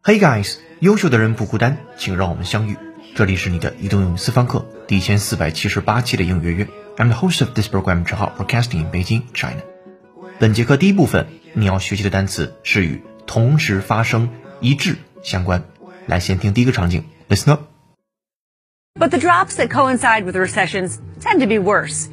Hey guys， 优秀的人不孤单，请让我们相遇。这里是你的移动英语私房课第1478期的英语约约。I'm the host of this program， 正好 broadcasting in Beijing, China。本节课第一部分，你要学习的单词是与同时发生、一致相关。来，先听第一个场景 ，Listen up. But the drops that coincide with recessions tend to be worse.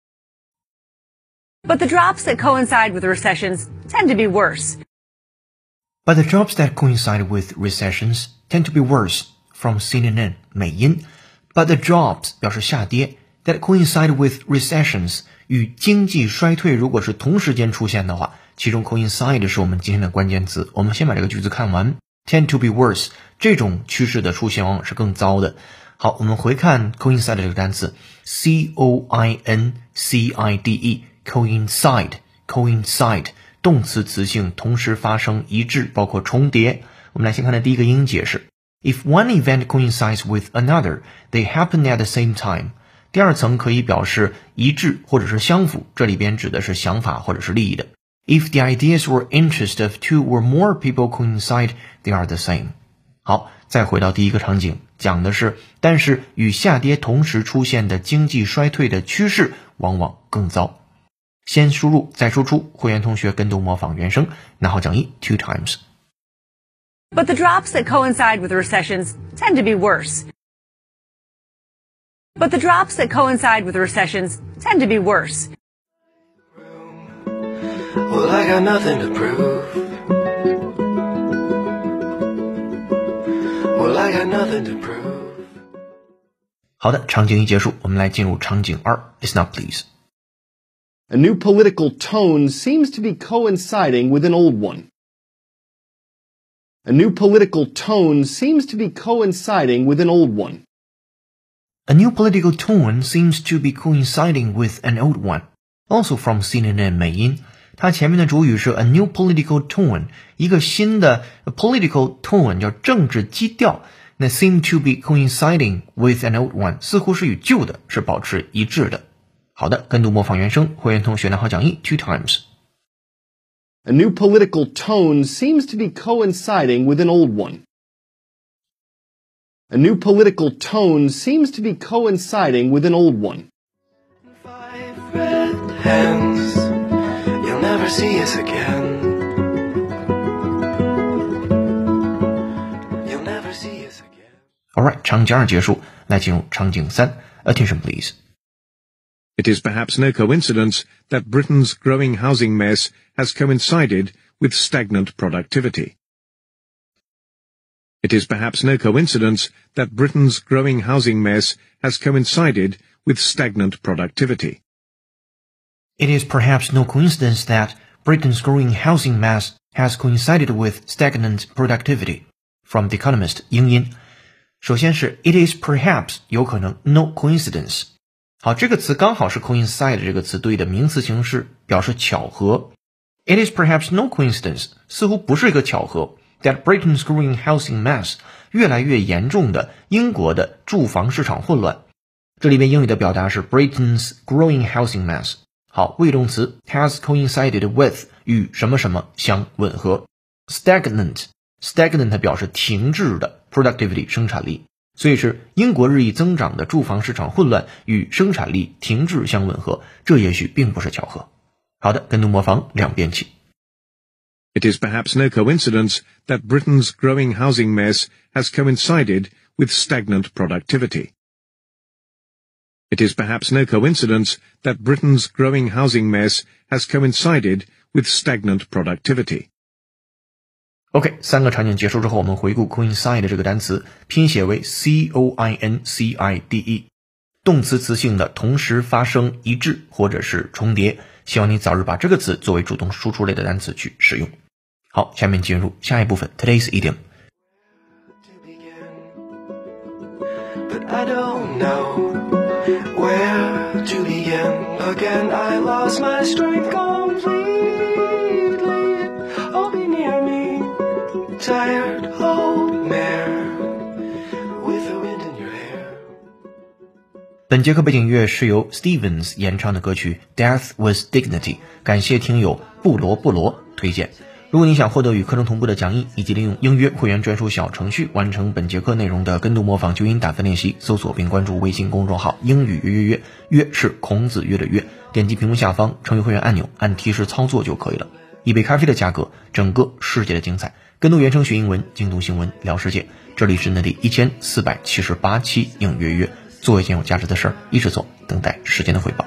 But the drops that coincide with recessions tend to be worse. But the drops that coincide with recessions tend to be worse. From CNN 美音 But the drops 表示下跌 that coincide with recessions 与经济衰退如果是同时间出现的话，其中 coincide 是我们今天的关键词。我们先把这个句子看完。Tend to be worse 这种趋势的出现往往是更糟的。好，我们回看 coincide 这个单词 C-O-I-N-C-I-D-E coincide 动词词性同时发生一致包括重叠。我们来先看的第一个英解释 If one event coincides with another, they happen at the same time. 第二层可以表示一致或者是相符，这里边指的是想法或者是利益的。If the ideas or interests of two or more people coincide, they are the same. 好，再回到第一个场景，讲的是但是与下跌同时出现的经济衰退的趋势往往更糟。先输入再输出，会员同学跟读模仿原声，拿好讲义 two times. But the drops that coincide with recessions tend to be worse. But the drops that coincide with recessions tend to be worse. Well, I got nothing to prove. Well, I got nothing to prove. 好的，场景一结束，我们来进入场景二 Listen up, please. A new political tone seems to be coinciding with an old one. A new political tone seems to be coinciding with an old one. A new political tone seems to be coinciding with an old one. Also from CNN 美音，它前面的主语是 a new political tone， 一个新的 political tone 叫政治基调。那 seem to be coinciding with an old one 似乎是与旧的是保持一致的。好的，跟读模仿原声，会员同学拿好讲义 two times. A new political tone seems to be coinciding with an old one. A new political tone seems to be coinciding with an old one. 5 red hands, you'll never see us again. You'll never see us again. Alright, 场景二结束，来进入场景三 Attention please. It is perhaps no coincidence that Britain's growing housing mess has coincided with stagnant productivity. It is perhaps no coincidence that Britain's growing housing mess has coincided with stagnant productivity. It is perhaps no coincidence that Britain's growing housing mass has coincided with stagnant productivity. From The Economist 英音。首先是 It is perhaps 有可能 no coincidence。好，这个词刚好是 coincide 这个词对的名词形式，表示巧合。It is perhaps no coincidence 似乎不是一个巧合 that Britain's growing housing mess 越来越严重的英国的住房市场混乱。这里边英语的表达是 Britain's growing housing mess。好，谓动词 has coincided with 与什么什么相吻合。Stagnant 表示停滞的 productivity 生产力。所以是英国日益增长的住房市场混乱与生产力停滞相吻合，这也许并不是巧合。好的，跟读模仿两遍起。 It is perhaps no coincidence that Britain's growing housing mess has coincided with stagnant productivity. It is perhaps no coincidence that Britain's growing housing mess has coincided with stagnant productivity. OK， 三个场景结束之后，我们回顾 coincide 这个单词，拼写为 C-O-I-N-C-I-D-E， 动词词性的同时发生一致或者是重叠。希望你早日把这个词作为主动输出类的单词去使用。好，下面进入下一部分 Today's Idiom。 But I don't know where to begin. Again, I lost my strength completely. Oh, be near me, tired old mare with the wind in your hair. 本节课背景乐是由 Stevens 演唱的歌曲 Death with Dignity， 感谢听友布罗推荐。 如果你想获得与课程同步的讲义，以及利用英约会员专属小程序完成本节课内容的跟读模仿纠音打分练习，搜索并关注微信公众号英语约约约，约是孔子约的约，点击屏幕下方成为会员按钮，按提示操作就可以了。一杯咖啡的价格，整个世界的精彩，跟读原声学英文，精读新闻聊世界。这里是第1478期英约约，做一件有价值的事儿，一直做，等待时间的回报。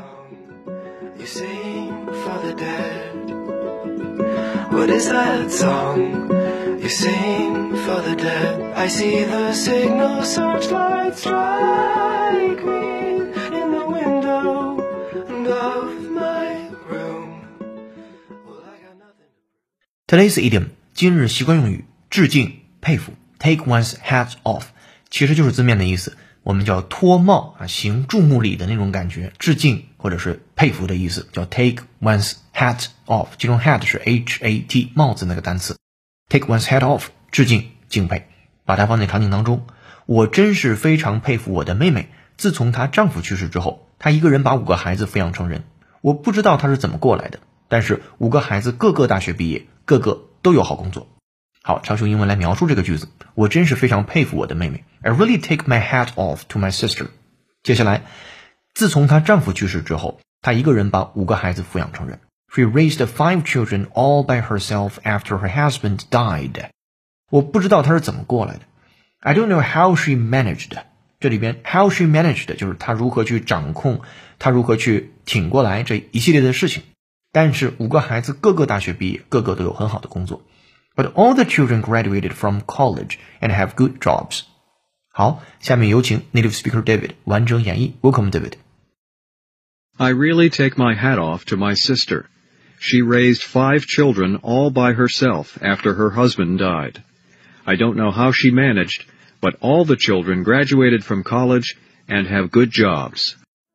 What is that song you sing for the dead? I see the signal searchlight strike me in the window of my room. Well, I got nothing. Today's idiom 今日习惯用语致敬佩服 take one's hat off 其实就是字面的意思，我们叫脱帽行注目礼的那种感觉，致敬或者是佩服的意思，叫 take one's hat off， 其中 hat 是 hat 帽子那个单词， take one's hat off 致敬敬佩。把它放在场景当中，我真是非常佩服我的妹妹，自从她丈夫去世之后，她一个人把5个孩子抚养成人，我不知道她是怎么过来的，但是5个孩子个个大学毕业，个个都有好工作。好，常用英文来描述这个句子，我真是非常佩服我的妹妹。I really take my hat off to my sister。 接下来，自从她丈夫去世之后，她一个人把5个孩子抚养成人。She raised 5 children all by herself after her husband died。 我不知道她是怎么过来的。I don't know how she managed。 这里边 how she managed 就是她如何去掌控，她如何去挺过来这一系列的事情。但是5个孩子个个大学毕业，个个都有很好的工作。But all the children graduated from college and have good jobs。 好，下面有请 native speaker David 完整演绎。 Welcome David。 I really take my hat off to my sister. She raised 5 children all by herself after her husband died. I don't know how she managed, but all the children graduated from college and have good jobs.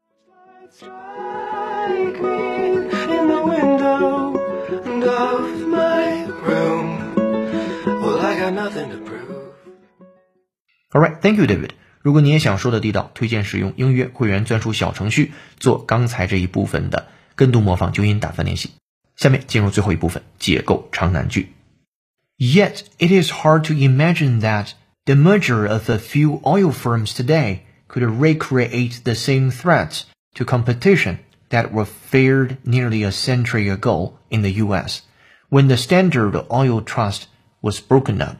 Strike me in the window of my room. Well, I got nothing to prove. Alright, thank you David。 如果你也想说的地道，推荐使用英约会员专属小程序做刚才这一部分的跟读模仿纠音打分练习。下面进入最后一部分，解构长难句。 Yet it is hard to imagine that the merger of a few oil firms today could recreate the same threats to competition that were feared nearly a century ago in the US, when the Standard Oil Trust was broken up.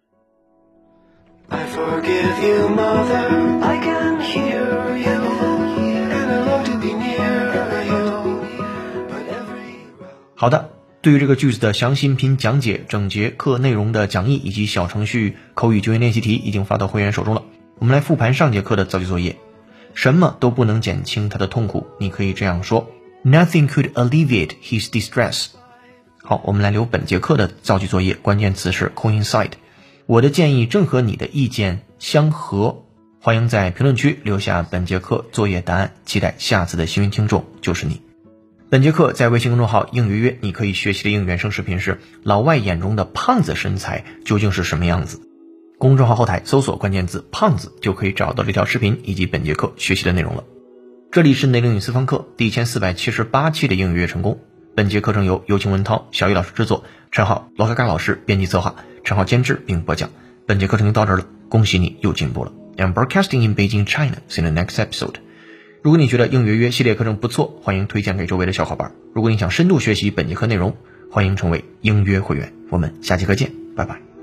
I forgive you, mother. I can hear you, and I love to be near you. But every 好的，对于这个句子的详细音频讲解、整节课内容的讲义以及小程序口语纠音练习题已经发到会员手中了。我们来复盘上节课的造句作业。什么都不能减轻他的痛苦，你可以这样说 Nothing could alleviate his distress。 好，我们来留本节课的造句作业，关键词是 coincide。 我的建议正和你的意见相合。欢迎在评论区留下本节课作业答案，期待下次的幸运听众就是你。本节课在微信公众号英约约，你可以学习的英语原声视频是老外眼中的胖子身材究竟是什么样子。公众号后台搜索关键字胖子，就可以找到这条视频以及本节课学习的内容了。这里是内容与私房课第1478期的英语约成功。本节课程由有请文涛、小雨老师制作，陈浩、罗嘎嘎老师编辑策划，陈浩监制并播讲。本节课程就到这儿了，恭喜你又进步了。I'm broadcasting in Beijing, China. See you in the next episode. 如果你觉得英语约约系列课程不错，欢迎推荐给周围的小伙伴。如果你想深度学习本节课内容，欢迎成为英约会员。我们下节课见，拜拜。